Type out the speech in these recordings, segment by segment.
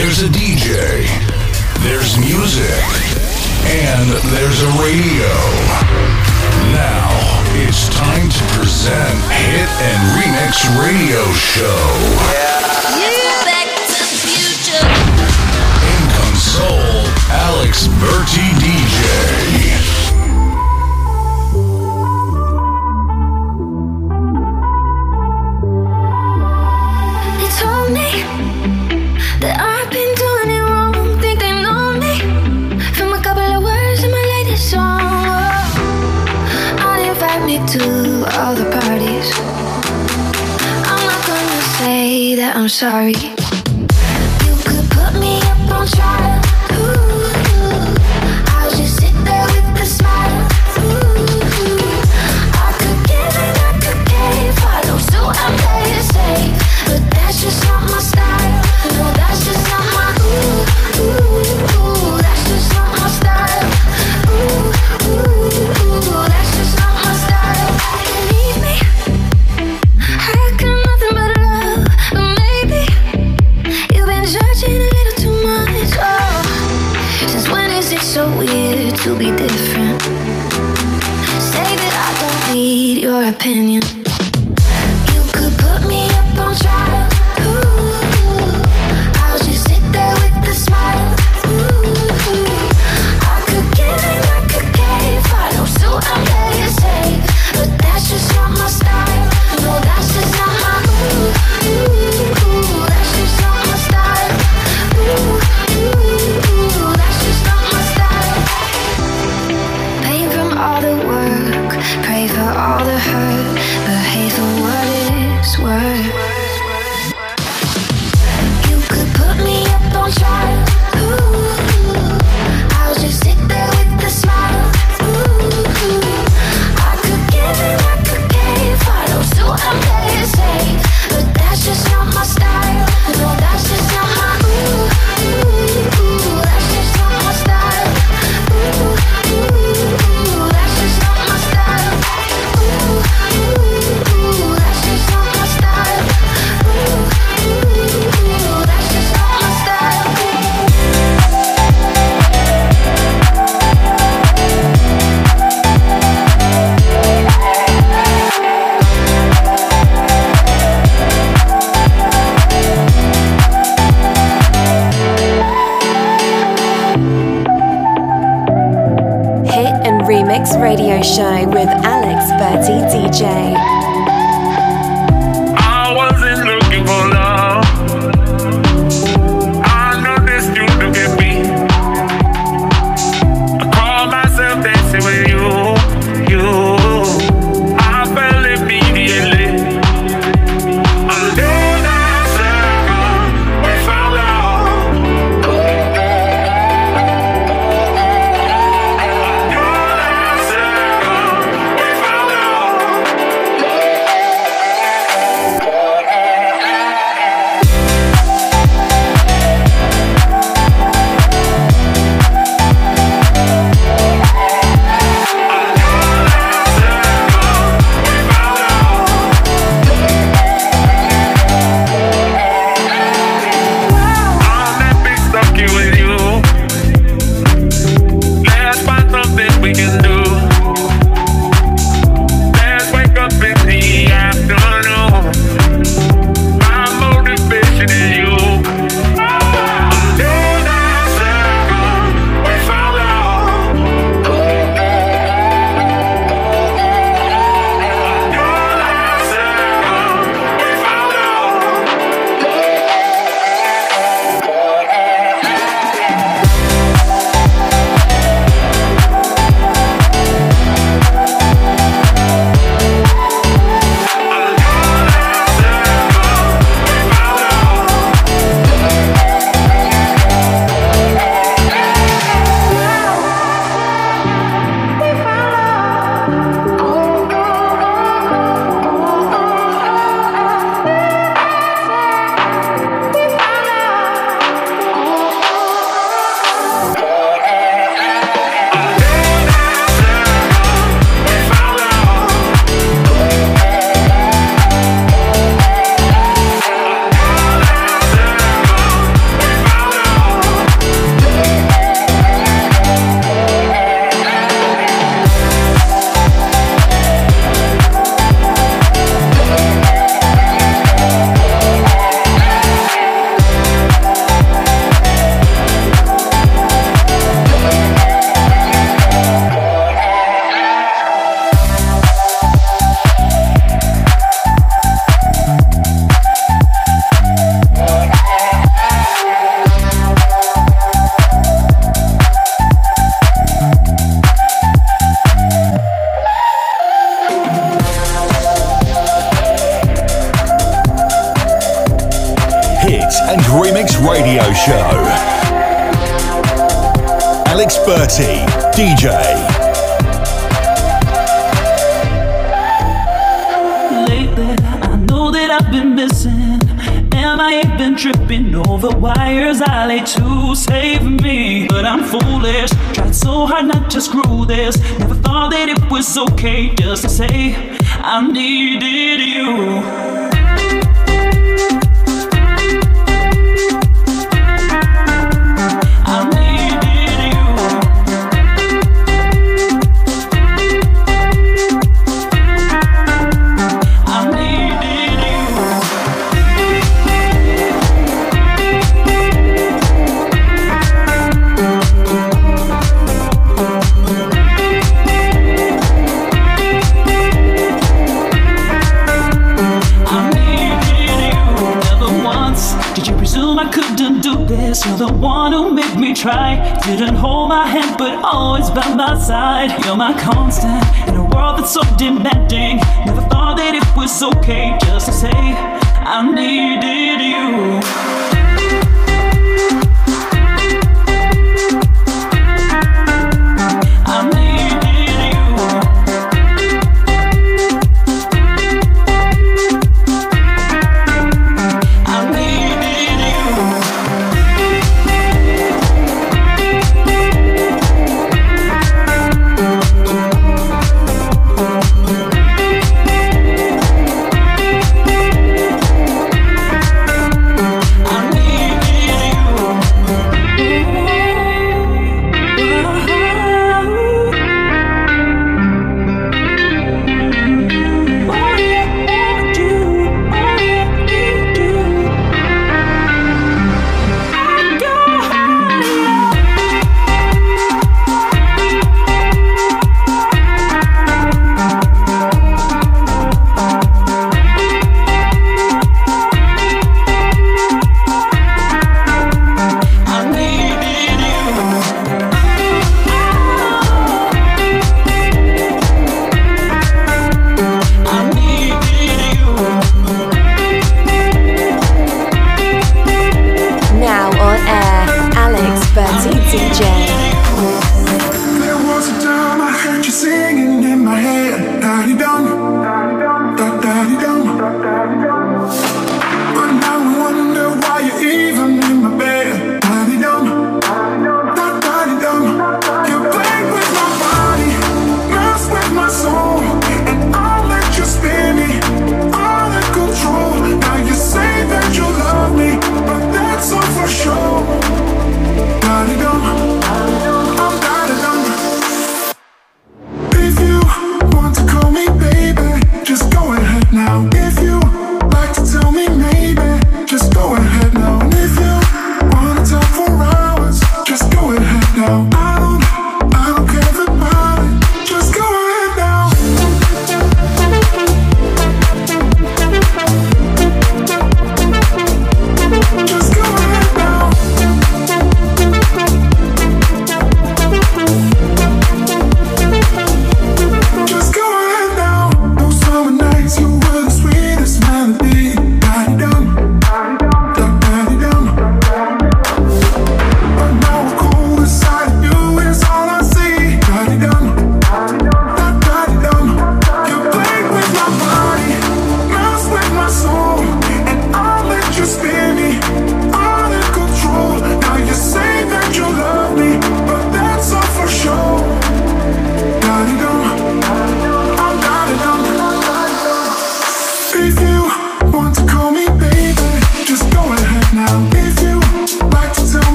There's a DJ, there's music, and there's a radio. Now it's time to present Hit and Remix Radio Show. Yeah. Back to the future. In console, Alex Berti DJ. That I've been doing it wrong, think they know me from a couple of words in my latest song. I'd invite me to all the parties. I'm not gonna say that I'm sorry. You could put me up on trial. Ooh, I'll just sit there with a smile. Ooh, I could give and I could give. Follow suit, I'm play it safe, but that's just not my style. No, that's just not my ooh, that's just not my style. Ooh, that's just not my style. Believe me, I got nothing but love, but maybe you've been judging a little too much. Oh, since when is it so weird to be different? Say that I don't need your opinion. You could put me up on trial. I'm playing safe, but that's just not my style. No, that's just not my ooh, that's just not my style. Ooh, that's just not my style. Pain from all the work, pray for all the hurt, but hate for what it's worth. You could put me up on trial. Ooh, I'll just sit there with a smile. I'm playing safe, but that's just not my style. No, that's just not my ooh, that's just not my style. Ooh, that's just not my style. Ooh, that's just not my style. Ooh, that's just not my style. Remix Radio Show with Alex Berti DJ. I wasn't looking for love. I noticed you look at me. I call myself dancing with you. I fell immediately. I'm doing that circle. We found out. and Remix Radio Show. Alex Berti, DJ. Lately, I know that I've been missing. Am I even tripping over wires I lay to save me? But I'm foolish, tried so hard not to screw this. Never thought that it was okay just to say I needed you. You're the one who made me try. Didn't hold my hand, but always by my side. You're my constant in a world that's so demanding. Never thought that it was okay just to say I needed you.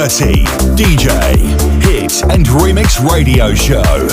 Bertie, DJ, Hit and Remix Radio Show.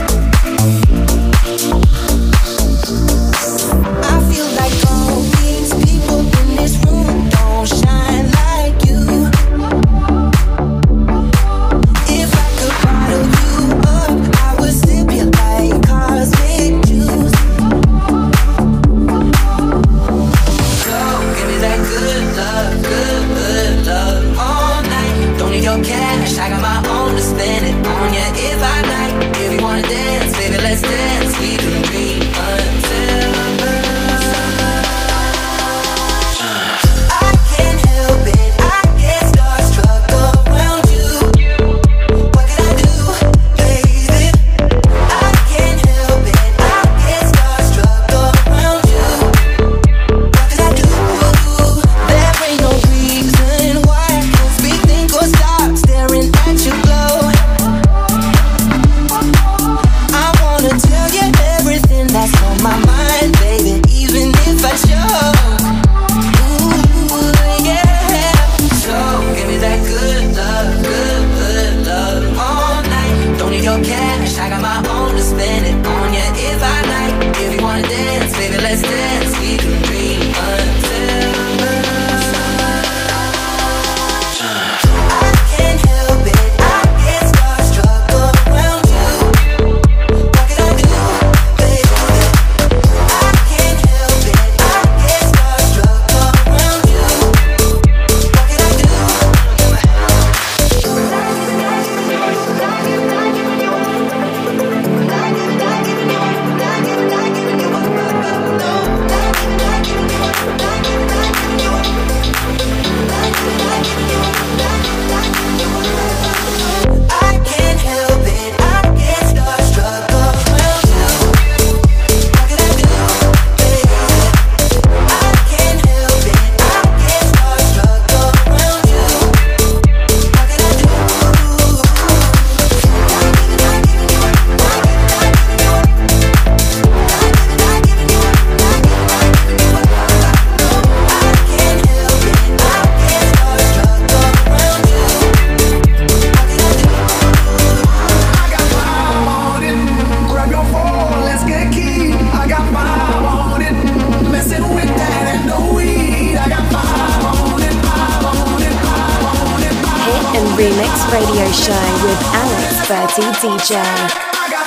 Radio Show with Alex Bertie DJ. I got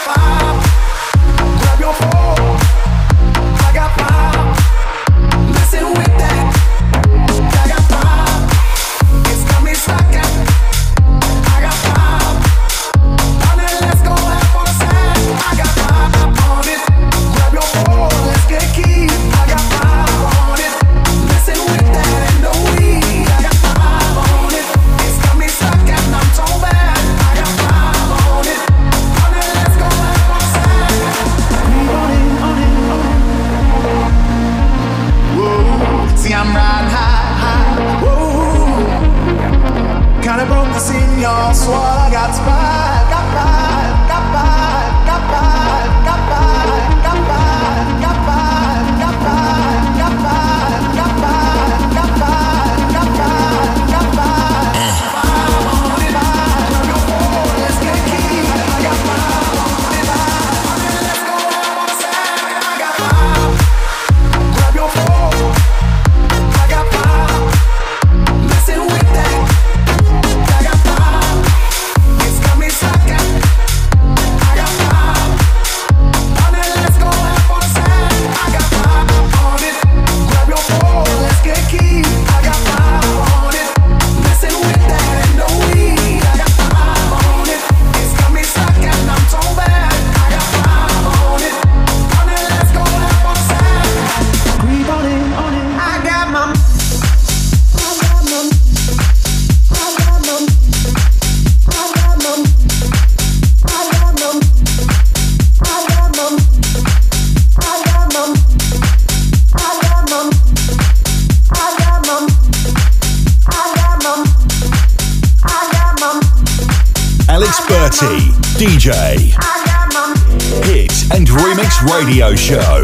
five. Grab your phone. I got five. Listen with that. I got five. It's got me stacking. I got five. On it, let's go have fun side. I got five on it. Grab your phone. Let's get key. I got five on it. Listen with that and no weed. I got five on it. It's got me stacking. I'm so bad. I got five on it. On it, let's go have fun side. Whoa. See, I'm riding high. Whoa. Kinda broke the scene, y'all. Swore I got five. Got five. Got five. Got five. Got five. Got five. Got five. Got five. Got five. Got five. Got five. Got five. Got five. Five on it. Five. Your phone. Let's get key. I got five on it. Let's go have on side. I got five. Grab your phone. I got five. Listen with that. I got five. It's got me slacking. I got five. On it, let's go have on side. I got five on it. Grab your phone. Let's get key. I got five on it. Listen with that and no weed. I got five on it. It's got me slacking. I'm so bad. I got five on it. On it, let's go have on side. Creep on it, on it. I got my. Alex Bertie, DJ, Hit and Remix Radio Show.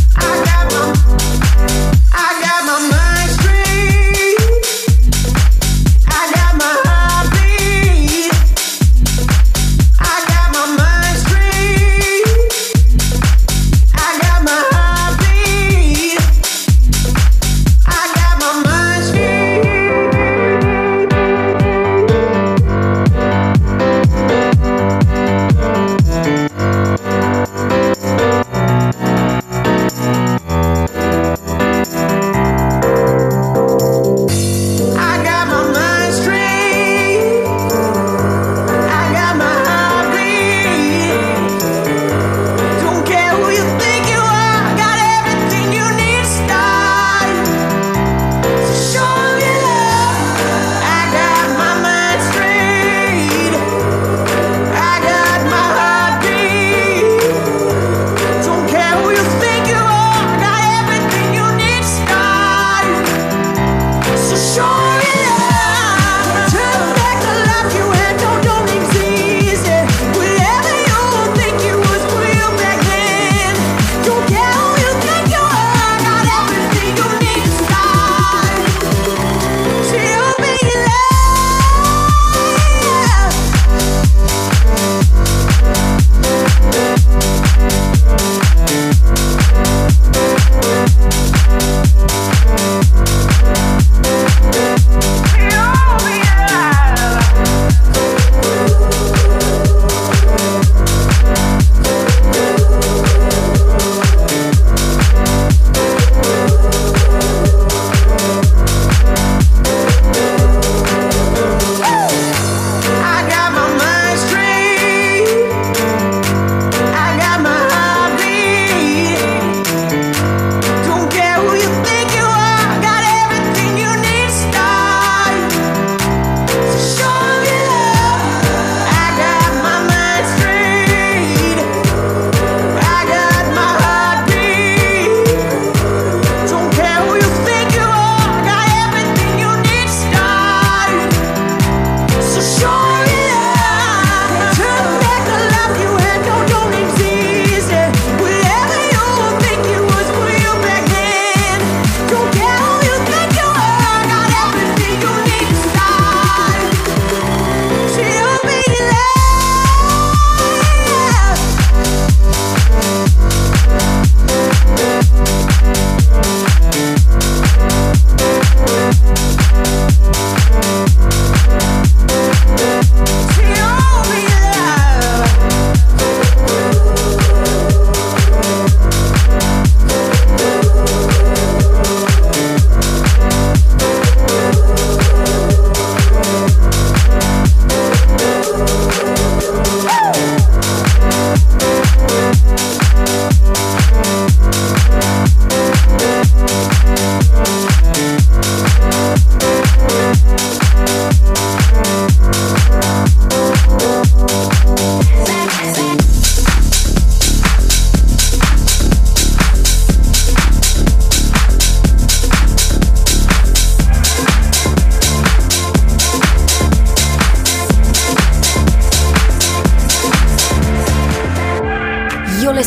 I got my mind straight.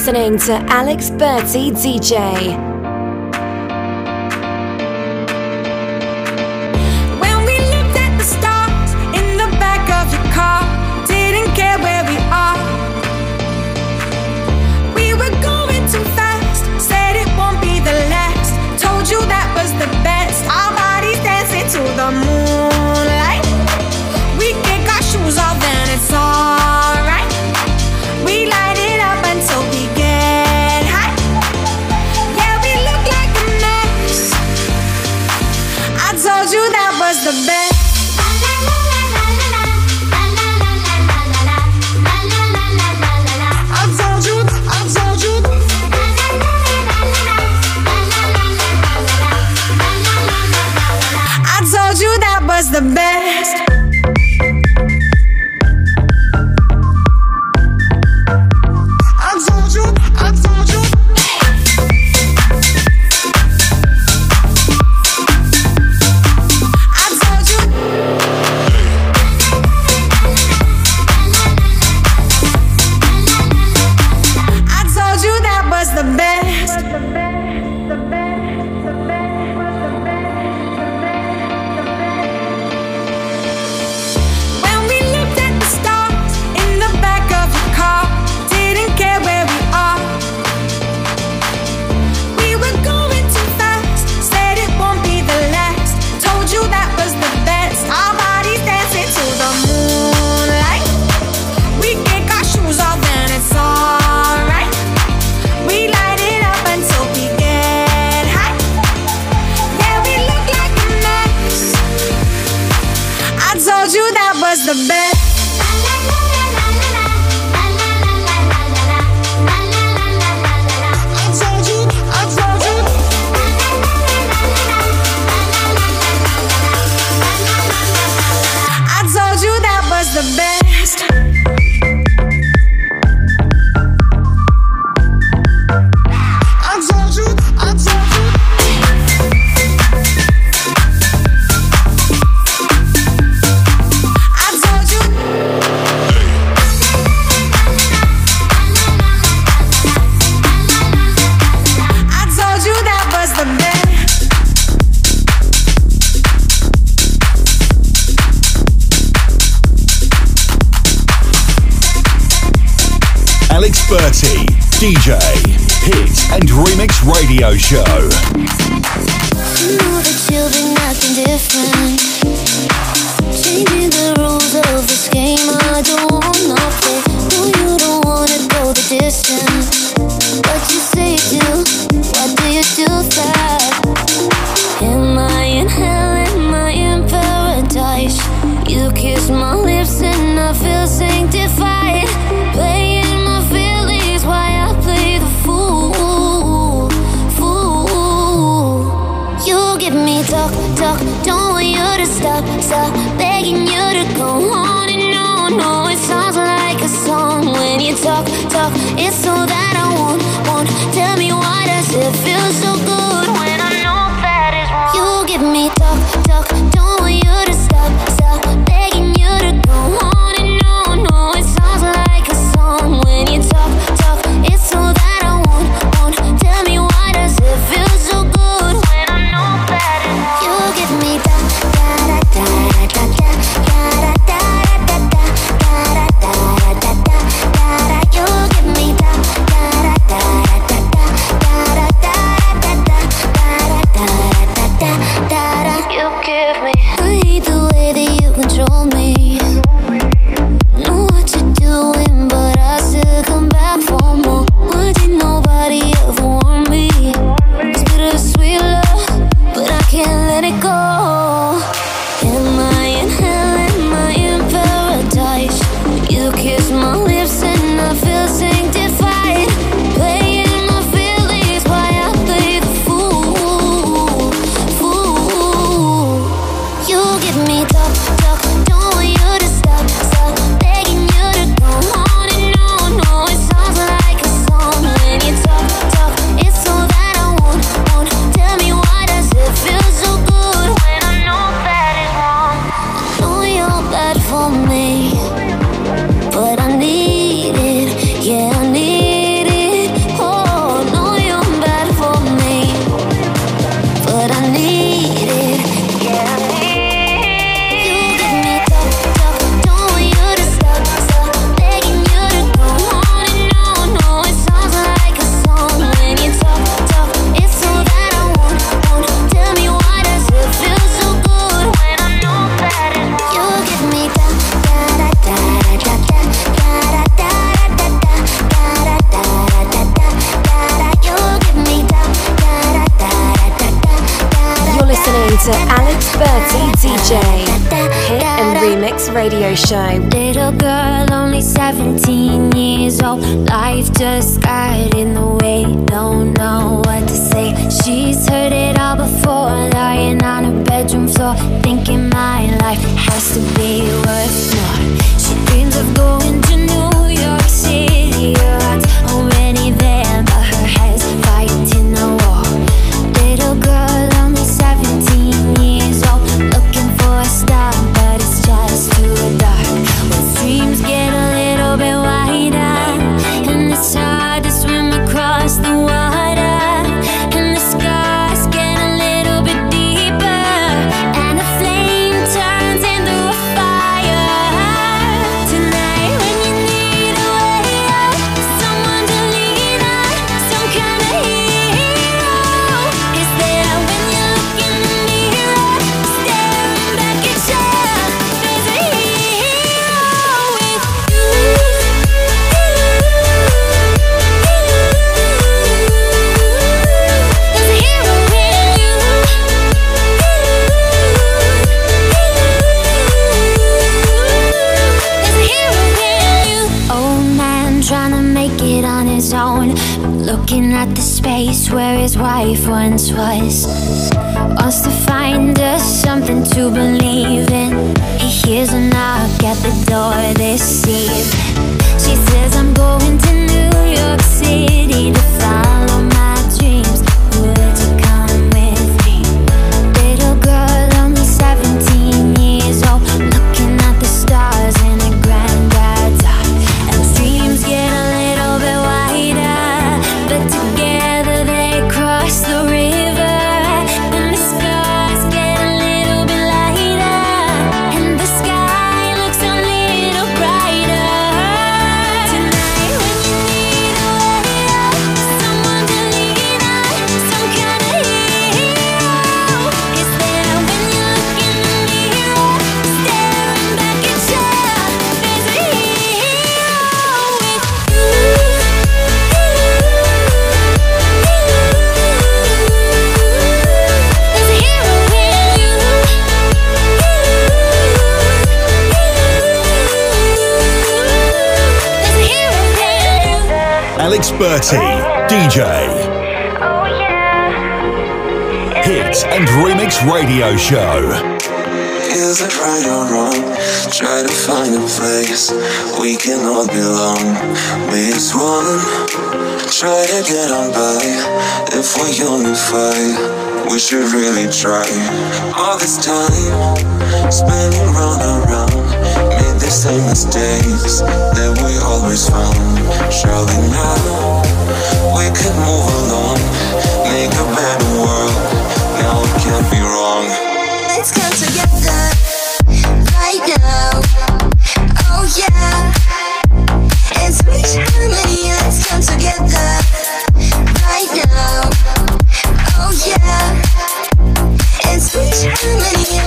listening to Alex Berti DJ. The best. The best. Alex Berti, DJ, Hit and Remix Radio Show. You know that you'll be nothing different. Changing the rules of this game, I don't wanna play. No, you don't wanna go the distance, but you say you do. Why do you do that? Am I in hell? Am I in paradise? You kiss my lips and I feel sanctified. Playing my feelings while I play the fool. You give me talk, don't want you to stop, begging you to go on and on. No, it sounds like a song when you talk, it's all that I want. Tell me why does it feel so good when I know that is wrong? You give me talk, don't want you to stop, begging you to go on and on. No, it sounds like a song when you talk, it's all that I want. Tell me why does it feel so good when I know that is wrong? You give me da da da da da da. to Alex Berti DJ, hit and remix radio show. Little girl, only 17 years old. Life just got in the way, don't know what to say. She's heard it all before, lying on her bedroom floor, thinking my life has to be worth more. She dreams of going to New York City. Her heart's already there, but her head's fighting a war. Little girl, only 17 years old, looking for a star, but it's just too dark. When dreams get a little bit wider, and it's hard to swim across the water, and the scars get a little bit deeper, and the flame turns into a fire. Tonight when you need a way out, someone to lean on, some kind of hero is there when you look in the mirror, staring back at you. There's a hero with you. There's a hero in you. There's a hero in you. Old man trying to make it on his own, looking at the space where his wife once was. Wants to find us something to believe in. He hears a knock at the door this eve. She says, I'm going to New York City to follow my dreams. Would you come with me? Little girl, only 17 years old, looking at the stars in a granddad's art. And the dreams get a little bit wider, but together they cross the river. And the scars get a little bit lighter, and the sky looks a little brighter. Tonight when you need a way out, someone to lean on, some kind of hero is there when you look in the mirror, staring back at you. There's a hero with you. There's a hero in you. There's a hero in you. Alex Berti, DJ. Oh yeah. Hit and remix radio show. Is it right or wrong? Try to find a place we can all belong. Be as one. Try to get on by. If we unify, we should really try. All this time spinning round and round, made the same mistakes that we always found. Surely now we could move along, make a better world. Now it can't be wrong. Let's come together right now. Oh yeah. It's reach harmony. Let's come together right now. Oh yeah. It's reach harmony.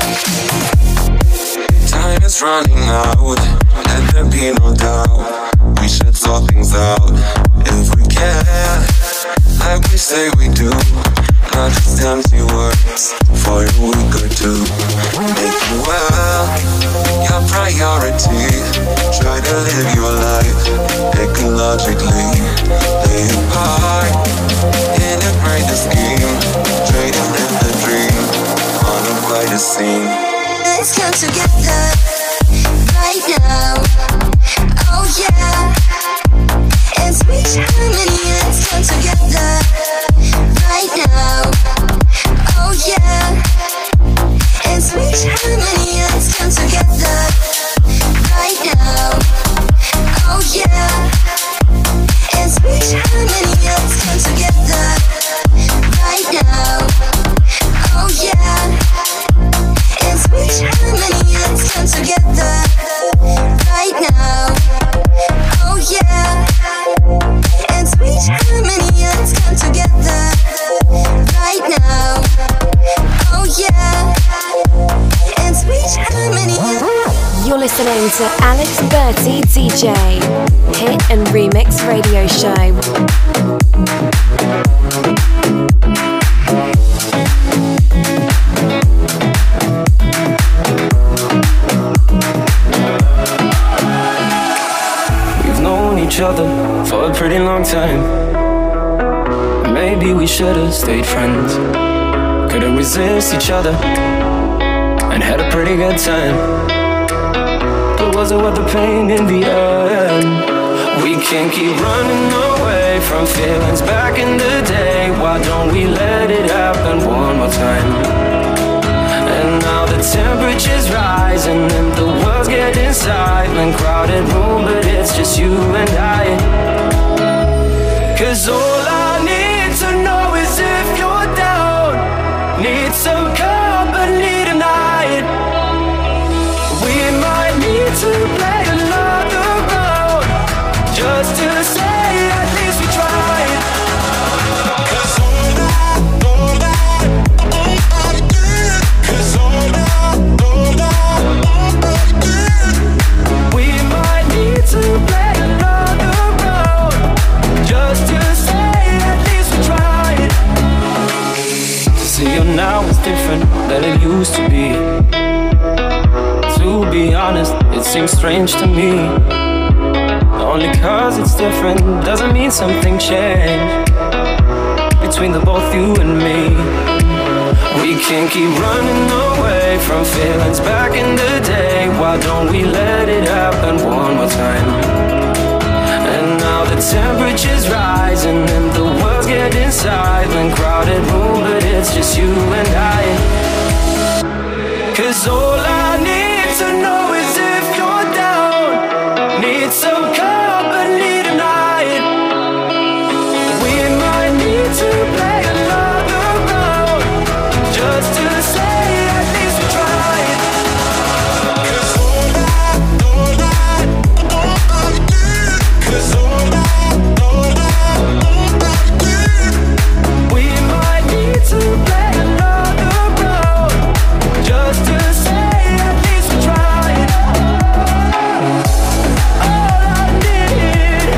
Time is running out, let there be no doubt. We should sort things out if we can, like we say we do. Not just empty words for a week or two. Make it well your priority. Try to live your life ecologically. Lay it apart, integrate the scheme. Try to live the dream on a brighter scene. Let's come together right now. Oh yeah. It's reach harmony. Let's come together right now. Oh yeah. It's reach harmony. Let's come together right now. Oh yeah. It's reach harmony. Let's come together right now. Oh yeah. It's reach harmony. Let's come together right now. Oh yeah. It's reach harmony. Let's come together right now. Oh yeah. It's reach harmony. You're listening to Alex Berti DJ, hit and remix radio show. maybe we should've stayed friends. Couldn't resist each other and had a pretty good time. But was it worth the pain in the end? We can't keep running away from feelings back in the day. Why don't we let it happen one more time? And now the temperature's rising and the world's getting silent. Crowded room, but it's just you and I. 'Cause all I need to know is if you're down. Need some company tonight. We might need to play another round, just to say at least we tried. 'Cause all we might need to play another round, just to say at least we tried. To see you now is different than it used to be. To be honest, it seems strange to me. Only 'cause it's different doesn't mean something changed between the both you and me. We can't keep running away from feelings back in the day. Why don't we let it happen one more time? And now the temperature's rising and the world's getting silent. Crowded room, but it's just you and I. 'Cause all I need to know is if you're down. Need some company tonight. We might need to play another round, just to say at least we tried. 'Cause all we might need to play another round, just to say at least we tried. All I need,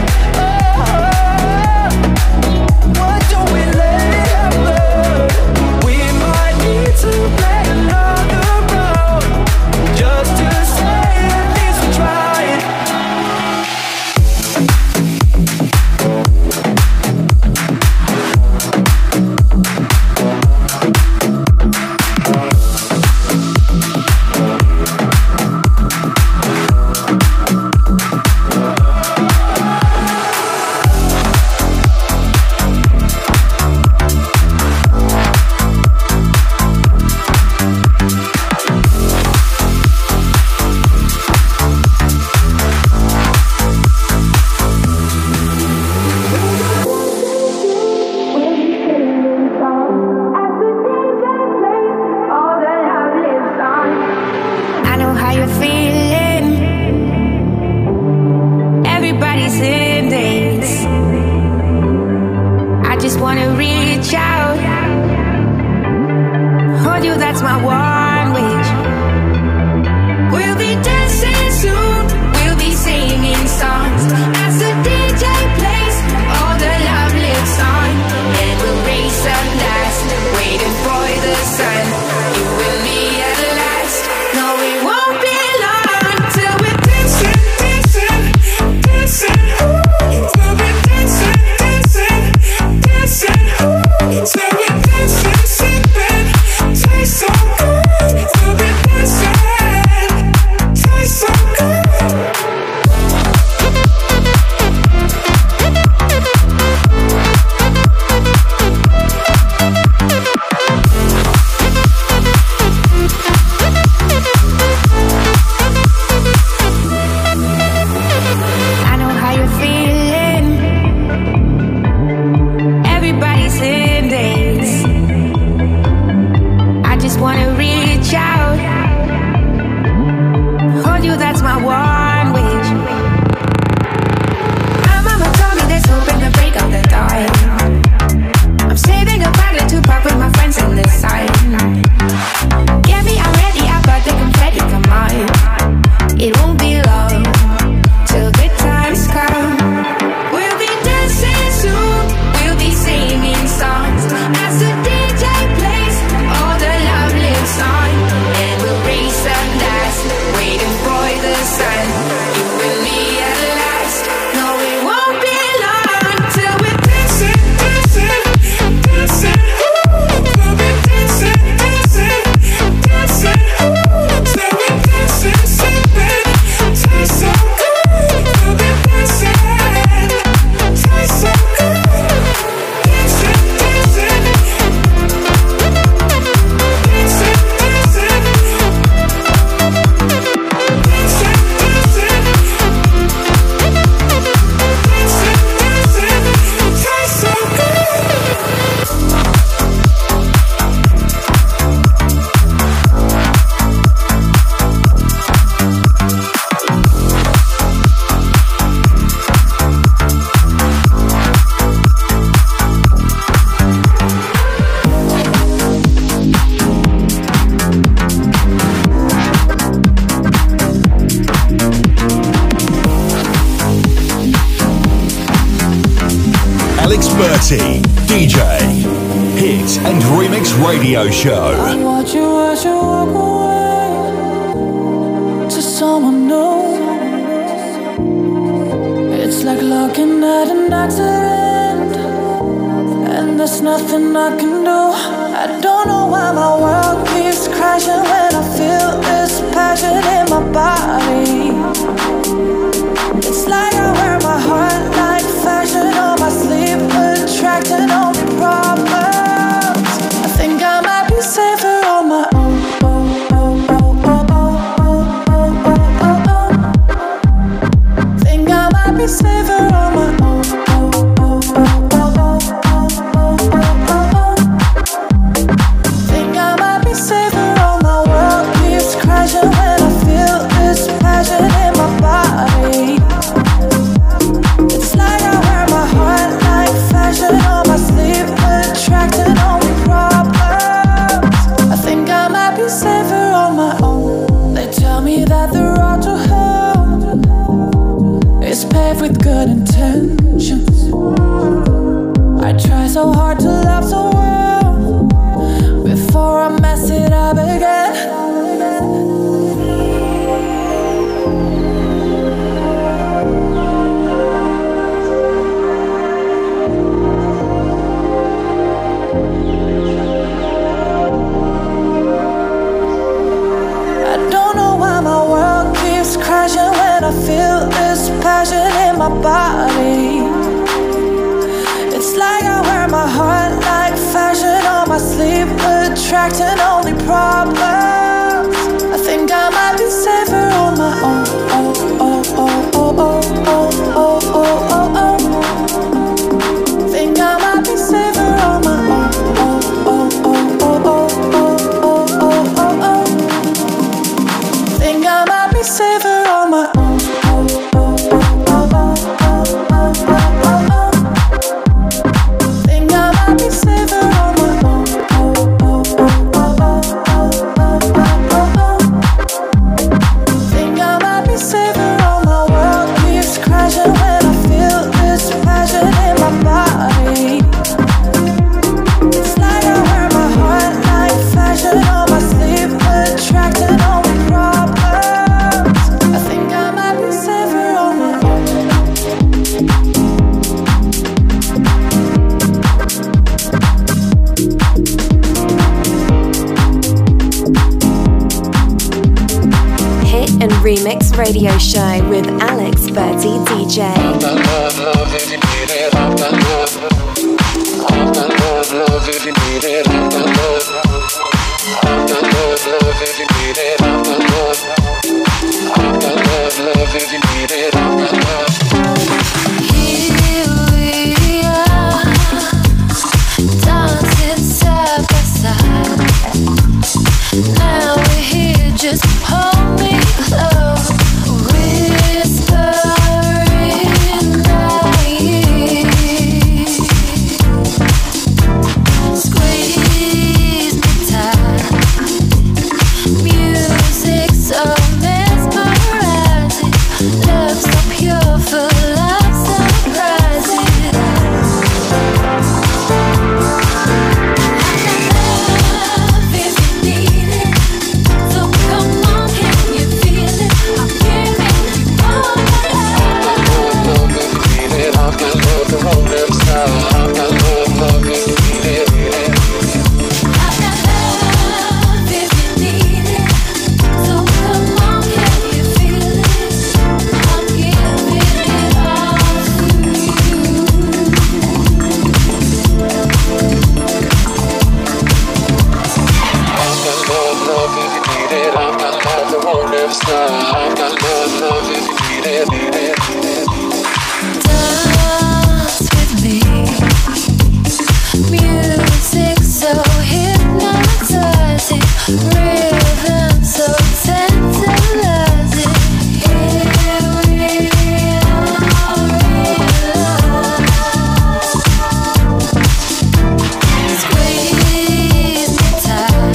why don't we let it happen? We might need to play another round, just to say at least we tried. I know how you're feeling. Everybody's in this. I just wanna reach out, hold you, that's my one wish. We'll be dancing soon, we'll be singing songs as the DJ plays all the love lives on. And we'll race up last, waiting for the sun. You and me at last. No, we won't be long till we're dancing, dancing, dancing. Till we're dancing, dancing, dancing. Till we're dancing, sipping, taste so good. Till we're dancing, taste so good. DJ. Hit and Remix Radio Show. I watch you as you walk away to someone new. It's like looking at an accident, and there's nothing I can do. I don't know why my world keeps crashing when I feel this passion in my body. It's like I wear my heart like fashion on my sleeve, attracting only problems. I think I might be safer on my own. Think I might be safer on my own. Think I might be safer on my world keeps crashing when I feel this passion in my body. It's like I wear my heart like fashion on my sleeve, attracting only problems. I think I might be safer on my own. They tell me that the road to hell is paved with good intentions. I try so hard to love so well before I mess it up again. I don't know why my world keeps crashing when I feel this passion in my body. It's like I wear my heart like fashion on my sleeve, attracting only problems. I think I might be safer on my own. Think I might be safer on my own. Think I might be safer on my own. Think I might be safer on my own. Think I might be safer on my world keeps crashing when I feel this passion in my body. It's like I wear my heart like fashion on my sleeve, attracting only problems. I think I might be safer on my own. Hit and Remix Radio Show with Alex Berti DJ. I've got love if you need it. I've got love. I've got love if you need it. I've got love. I've got love if you need it. I've got love. I've got love if you need it. I've got love. Here we are, dancing side by side. Now we're here, just hold me close, whispering in my ear. Squeeze me tight, music so mesmerizing, love so pure, full of surprises. Love if you need it, so come on, can you feel it? I'm giving you all my love. Love if you need it. I've got love to roll them style. I've got love if you need it. I've got love if you need it, so come on, can you feel it? I'm giving it all to you. I've got love if you need it. I've got love to roll them style. I've got love if you need it. Dance with me, music so hypnotizing, rhythm so tantalizing. Here we are, squeeze me tight,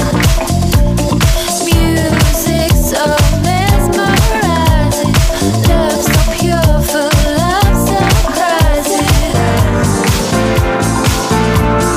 music so mesmerizing, love so pure, full of surprises.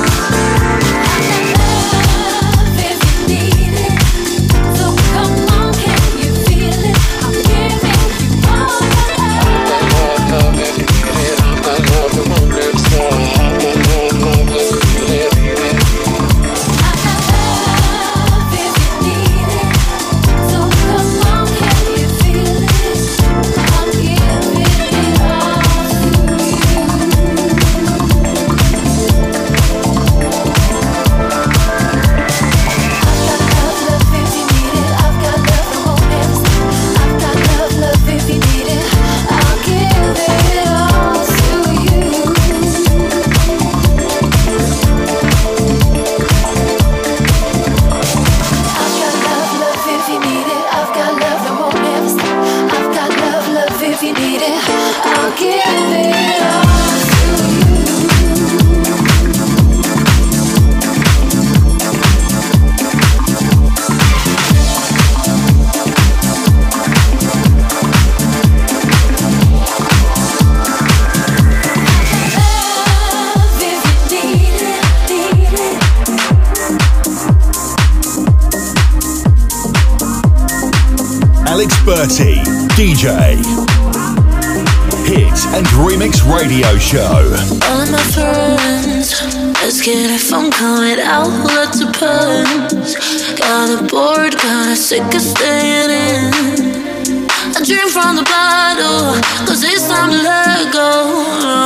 Bertie, DJ. Hit and Remix Radio Show. All of my friends asking if I'm coming out, let's depends. Got bored, got sick of staying in. I drink from the bottle, cause it's time to let go.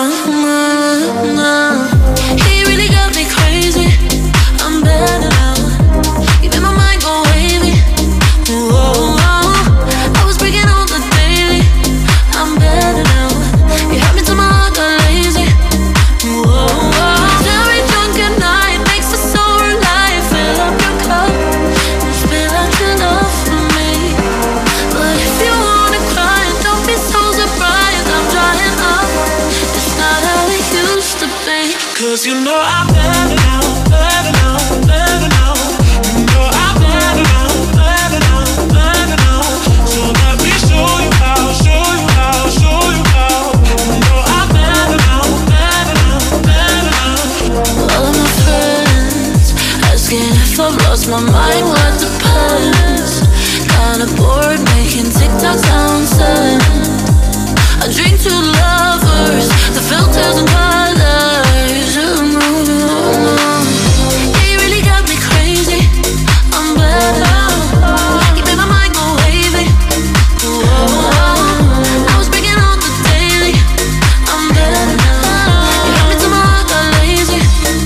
He really got me crazy, I'm better now. Keeping my mind go wavy. Whoa, I was breaking all the daily, I'm better now. You had me till my heart got lazy. Whoa, very drunk at night makes us so alive. Fill up your cup and spill out your love for me. But if you wanna cry, don't be so surprised. I'm drying up. It's not how it used to be. 'Cause you know I'm better now, better now, better now. You know I'm better now, better now, better now. So let me show you how, show you how, show you how. You know I'm better now, better now, better now. All of my friends asking if I've lost my mind, what depends. Kinda bored making TikTok sound sad. I drink to lovers, the filters and colors. You really got me crazy, I'm better. You made my mind go wavy. I was breaking all the daily, I'm better now. You had me till my heart got lazy.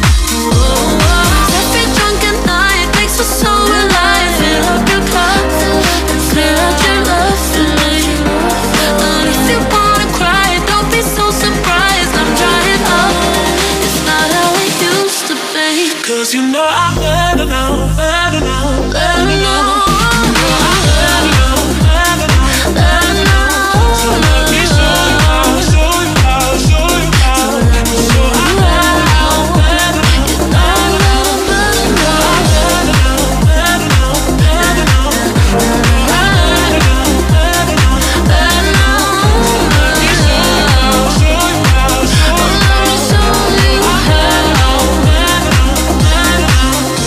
Every drunken night makes us so alive. Fill up your cup and clear out your love for me. And if you wanna cry, don't be so surprised. I'm drying up. It's not how it used to be. 'Cause you know I'm better now, better now, better now. You know I'm better now, better now, better now. So let me show you how, show you how, show you how. So I'm better now, better now, better now. I'm better now, better now, better now. Better now, better now, better now. Let me show you how, show you how, show you how. Let me show you how. Better now, better now, better now.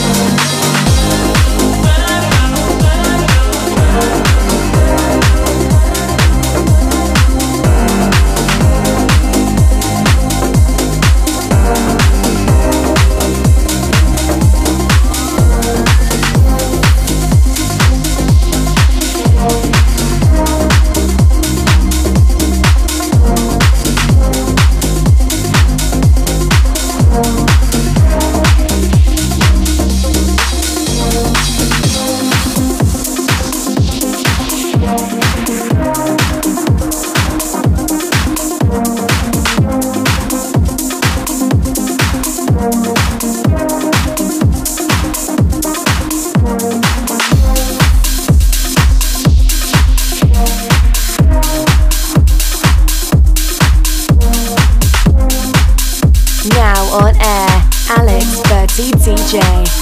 Now on air, Alex Bertie DJ.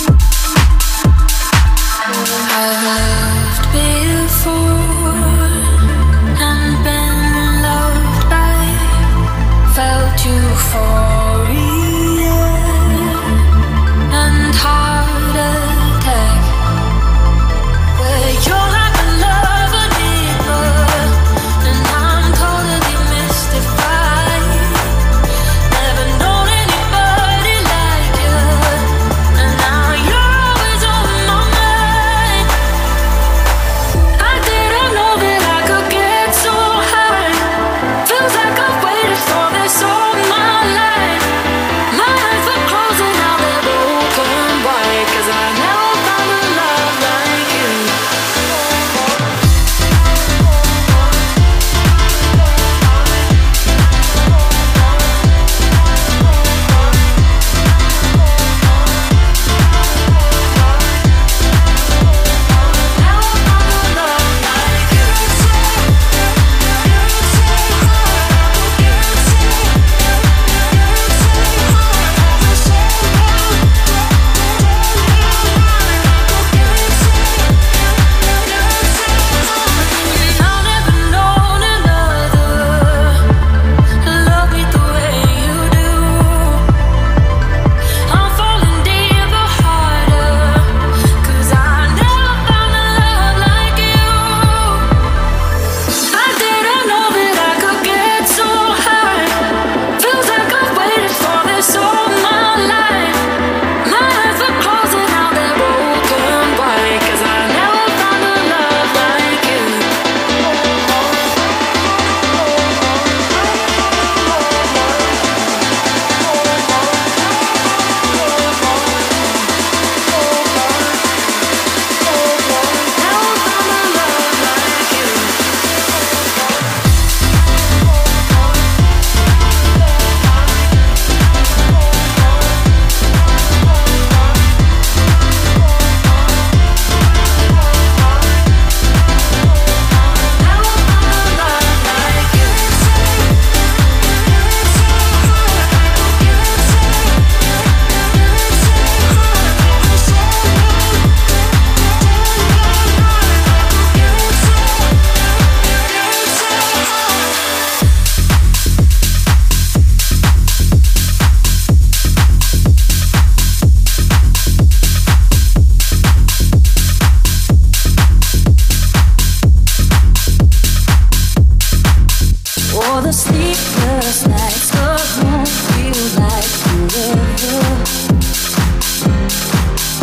I've loved before and been loved by, felt euphoria and heart attack. But you're like a lover deeper, and I'm totally mystified. Never known anybody like you, and now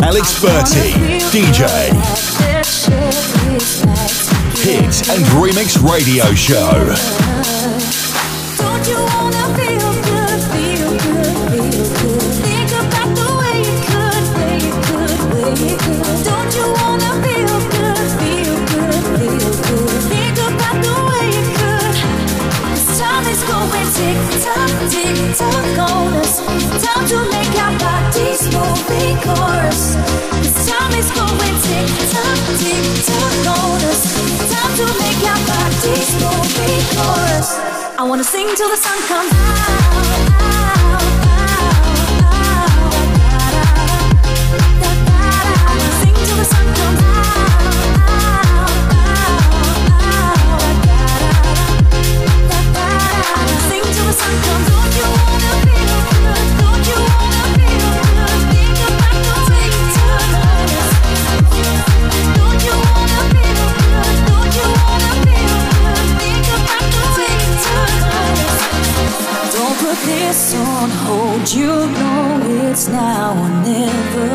Alex Berti, DJ. Hit and Remix Radio Show. Don't you wanna feel good, feel good, feel good? Think about the way you could, way you could, way you could. Don't you wanna feel good, feel good, feel good? Think about the way you could. This time is going tick-tock on us. Time to make our bodies move in chorus. This time is going tick-tock on us. Time to make our bodies move in chorus. I wanna sing till the sun comes out. I wanna sing till the sun comes out. Sing till the sun comes. Don't you wanna feel good? Don't you wanna feel good? Think about the way you turn on us. Don't you wanna feel good? Don't you wanna feel good? Think about the way you turn on us. Don't put this on hold. You know it's now or never.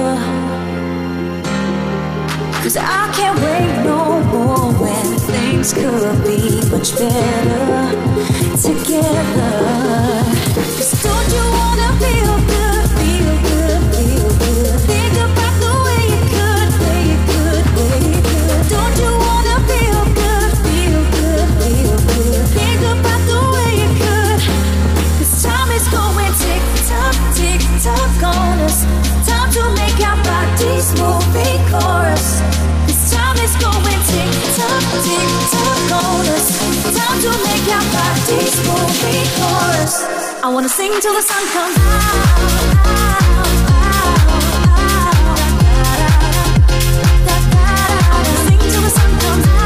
'Cause I can't wait no more when things could be much better together. 'Cause don't you wanna feel good, feel good, feel good? Think about the way you could, way you could, way you could. Don't you wanna feel good, feel good, feel good? Think about the way you could. 'Cause time is going tick-tock on us. Time to make our bodies move in chorus. This time is going tick-tock on us. Time to make our bodies move in chorus. I wanna sing till the sun comes out. I wanna sing till the sun comes out.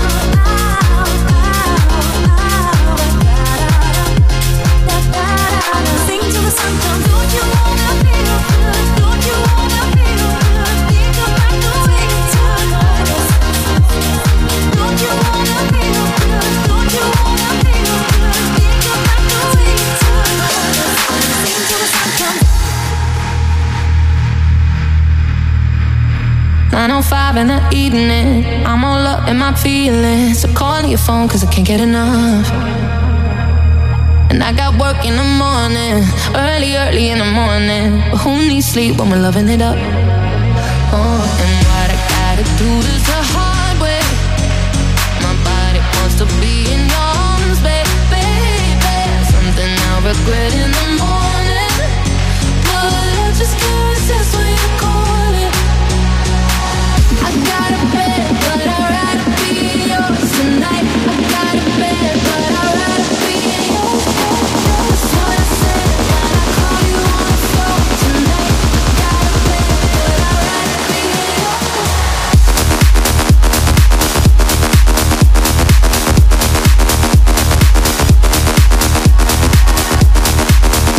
I wanna sing till the sun comes. Don't you wanna feel good? Don't you wanna feel good? Think about the way you turn on us. Don't you wanna feel good? Don't you wanna feel good? Think about the way you turn on us. Sing till the sun comes. 9:05 in the evening, I'm all up in my feelings. So calling your phone 'cause I can't get enough. And I got work in the morning, early in the morning. But who needs sleep when we're loving it up? Oh, and what I gotta do is the hard way. My body wants to be in your arms, baby. Something I'll regret in the morning. But I just can't resist when you call it. I got a bed, but I'd rather be yours tonight. I got a bed, but I'd rather be yours. That's what I said, that I call you on the phone tonight. I got a bed, but I'd rather be yours.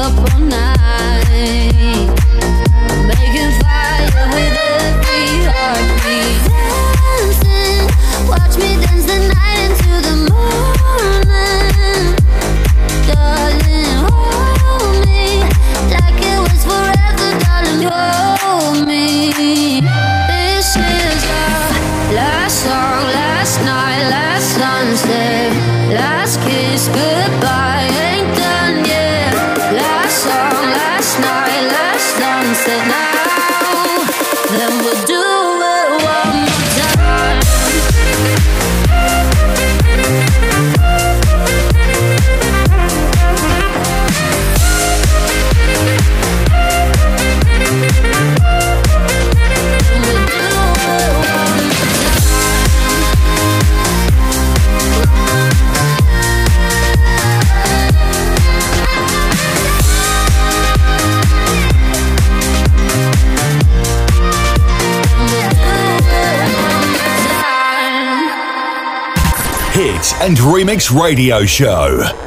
up all night, making fire with every heartbeat. Dancing, watch me dance the night into the morning. Darling, hold me like it was forever, darling, hold me. This is our last song, last night, last sunset, last kiss, goodbye, ain't done yet. Last song, last night, last sunset, now, then we'll do it one more time. Hit and Remix Radio Show.